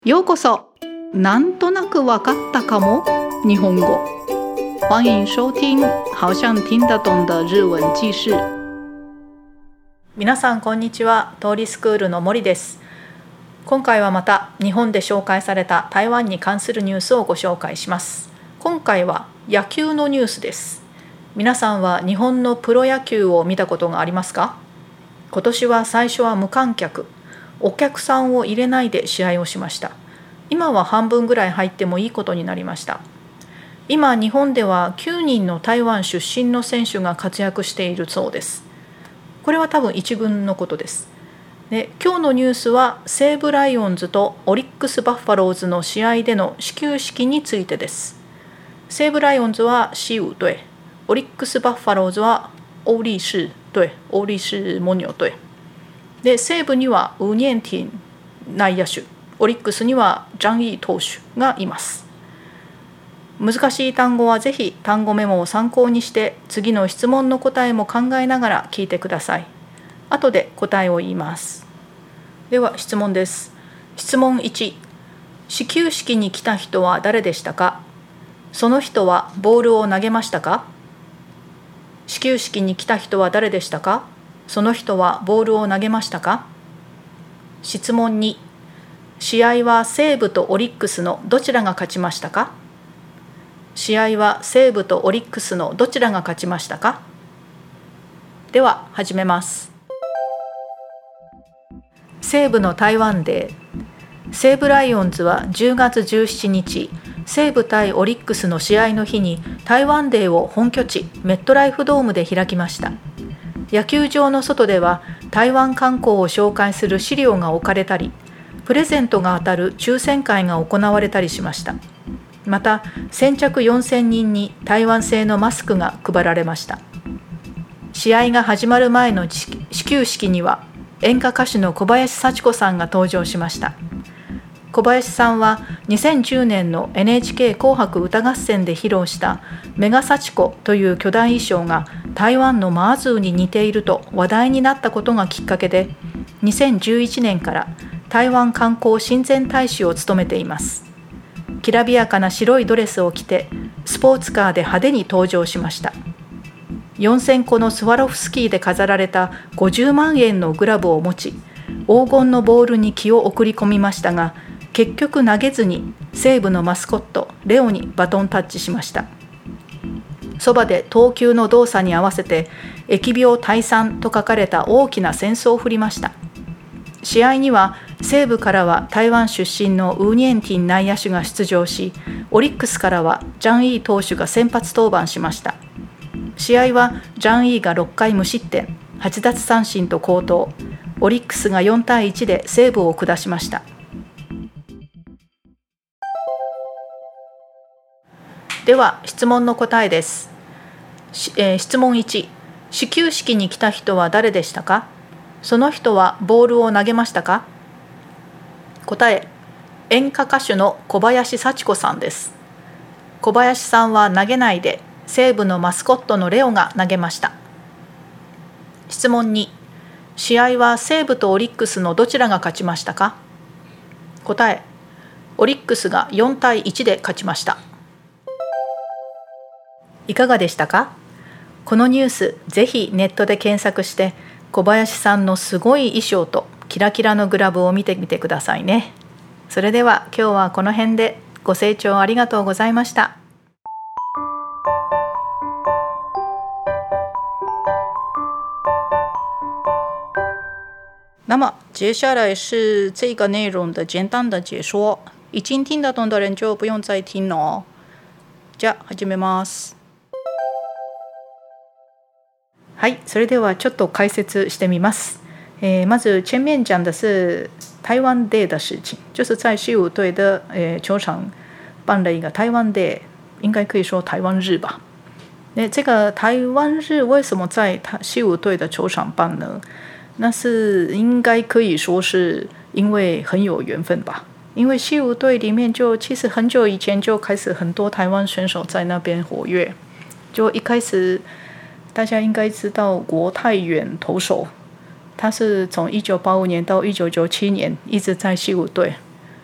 ようこそ。なんとなくわかったかも日本語。欢迎收听好像听得懂的日文記事。 皆さんこんにちは。通りスクールの森です。今回はまた日本で紹介された台湾に関するニュースをご紹介します。今回は野球のニュースです。皆さんは日本のプロ野球を見たことがありますか？今年は最初は無観客、お客さんを入れないで試合をしました。今は半分ぐらい入ってもいいことになりました。今日本では9人の台湾出身の選手が活躍しているそうです。これは多分一軍のことです。で、今日のニュースは西武ライオンズとオリックスバファローズの試合での始球式についてです。西武ライオンズは西武隊、オリックスバファローズは欧力士隊、欧力士蒙牛隊で、西武にはウニェンティン内野手、オリックスにはジャン・イー投手がいます。難しい単語はぜひ単語メモを参考にして次の質問の答えも考えながら聞いてください。後で答えを言います。では質問です。質問1、始球式に来た人は誰でしたか？その人はボールを投げましたか？始球式に来た人は誰でしたか？その人はボールを投げましたか？質問2、試合は西武とオリックスのどちらが勝ちましたか？試合は西武とオリックスのどちらが勝ちましたか？では始めます。西武の台湾デー。西武ライオンズは10月17日、西武対オリックスの試合の日に台湾デーを本拠地メットライフドームで開きました。野球場の外では台湾観光を紹介する資料が置かれたり、プレゼントが当たる抽選会が行われたりしました。また、先着4000人に台湾製のマスクが配られました。試合が始まる前の始球式には演歌歌手の小林幸子さんが登場しました。小林さんは2010年の NHK 紅白歌合戦で披露したメガ幸子という巨大衣装が台湾のマーズーに似ていると話題になったことがきっかけで、2011年から台湾観光親善大使を務めています。きらびやかな白いドレスを着てスポーツカーで派手に登場しました。4000個のスワロフスキーで飾られた50万円のグラブを持ち、黄金のボールに気を送り込みましたが、結局投げずに西武のマスコットレオにバトンタッチしました。そばで投球の動作に合わせて疫病退散と書かれた大きな扇子を振りました。試合には西武からは台湾出身のウーニェンティン内野手が出場し、オリックスからはジャン・イー投手が先発登板しました。試合はジャン・イーが6回無失点、8奪三振と好投。オリックスが4対1で西武を下しました。では質問の答えです。質問1、始球式に来た人は誰でしたか？その人はボールを投げましたか？答え、演歌歌手の小林幸子さんです。小林さんは投げないで西武のマスコットのレオが投げました。質問2、試合は西武とオリックスのどちらが勝ちましたか？答え、オリックスが4対1で勝ちました。いかがでしたか？このニュース、ぜひネットで検索して小林さんのすごい衣装とキラキラのグラブを見てみてくださいね。それでは今日はこの辺で。ご清聴ありがとうございました。那么接下来是这个内容的简单的解说，已经听得懂的人就不用再听了哦。じゃあ始めます。はい、それではちょっと解説してみます。まず前面讲的是台湾 Day 的事情，就是在西武队的球场办了一个台湾 Day， 应该可以说台湾日吧。这个台湾日为什么在西武队的球场办呢？那是应该可以说是因为很有缘分吧。因为西武队里面就其实很久以前就开始很多台湾选手在那边活跃，就一开始大家应该知道国泰远投手，他是从1985年到1997年一直在西武队，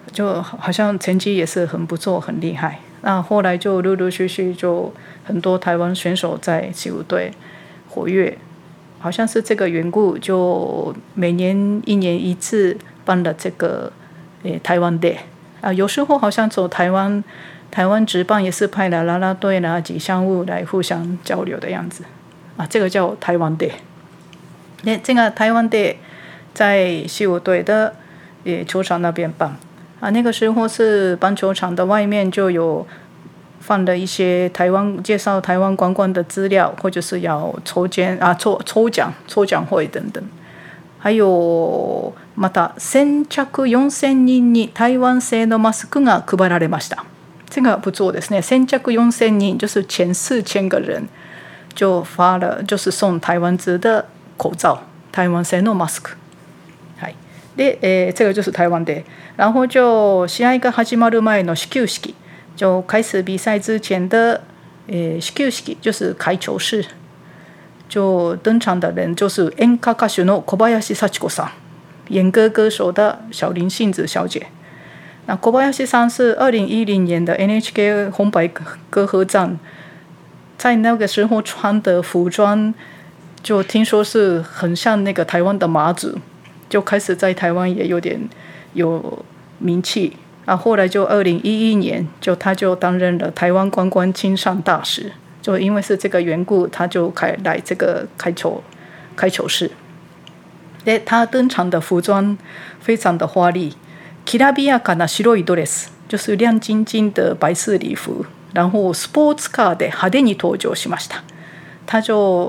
就好像成绩也是很不错，很厉害。那后来就陆陆续续就很多台湾选手在西武队活跃，好像是这个缘故，就每年1年1次办了这个台湾队啊。有时候好像走台湾职棒也是派了啦啦队啦、吉祥物来互相交流的样子啊，这个叫台湾队。那这个台湾队在西武队的球场那边办啊，那个时候是棒球场的外面就有放了一些介绍台湾观光的資料，或者是要抽奖会等等。还有また先着4000人に台湾製のマスクが配られました。这个不错ですね。先着4000人就是前4000个人就发了，就是送台湾制的口罩，台湾製のマスク。で、这个就是台湾で。然后就試合が始まる前の始球式。就开始比赛之前的始球式就是开球式，就登场的人就是演歌歌手の小林幸子さん，演歌歌手的小林幸子小姐。那小林さん是2010年的 NHK 红白歌合战，在那个时候穿的服装就听说是很像那个台湾的马祖，就开始在台湾也有名气。后来就2011年他就担任了台湾观光亲善大使，就因为是这个缘故，他就来这个开球式。他登场的服装非常的华丽，きらびやかな白いドレス，就是亮晶晶的白色礼服，然后スポーツカーで派手に登場しました。他就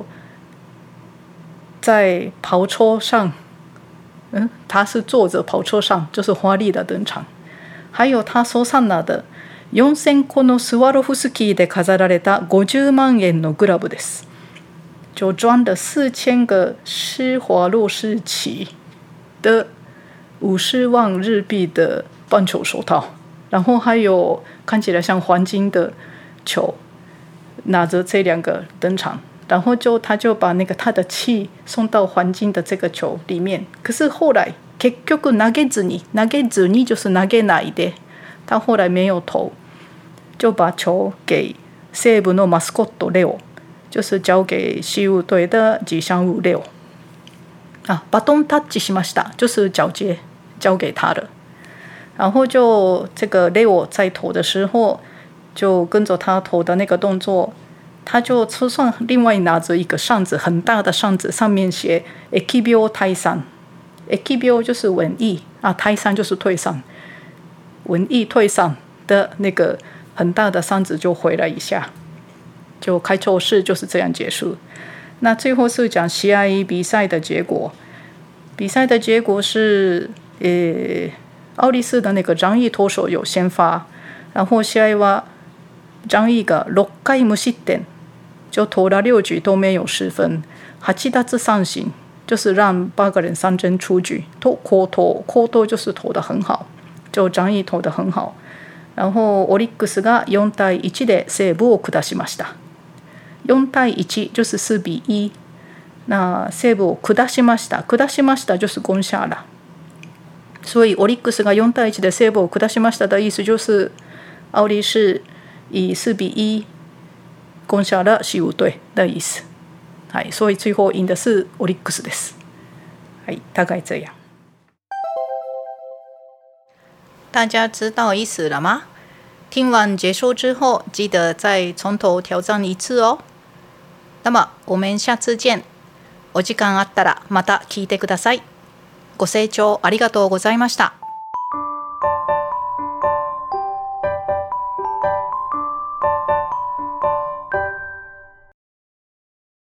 在跑车上，他是坐着跑车上，就是华丽的登场。还有他手上拿的4000個のスワロフスキーで飾られた50万円のグラブです。就装了4000个施华洛世奇的50万日币的棒球手套，然后还有看起来像黄金的球，拿着这2个登场。然后他就把他的气送到黄金的这个球里面。可是后来結局投げずに就是投げないで，他后来没有投，就把球给西武のマスコットレオ，就是交给西武队的吉祥物レオ。バトンタッチしました，就是交给他的。然后就这个レオ在投的时候，就跟着他投的那个动作，他就车上另外拿着一个扇子，很大的扇子，上面写疫病退散。疫病就是瘟疫退散就是退散，瘟疫退散的那个很大的扇子就回了一下，就开球式就是这样结束。那最后是讲試合比赛的结果，比赛的结果是奥利斯的那个张毅投手有先发，然后試合は张毅が6回無失点，就投了6局都没有失分，8奪三振。就是让8个人3振出局，好投就是投得很好，就张毅投得很好。然后オリックスが4対1で西武を下しました。4対1就是4比1。那西武を下しました就是攻下了。所以オリックスが4対1で西武を下しました的意思就是奥利是以4比1攻下了西武队的意思。所以最后赢的是オリックスです。大概这样。 大家知道意思了吗？听完结束之后，记得再从头挑战一次哦。那么我们下次见。お時間あったらまた聞いてください。ご清聴ありがとうございました。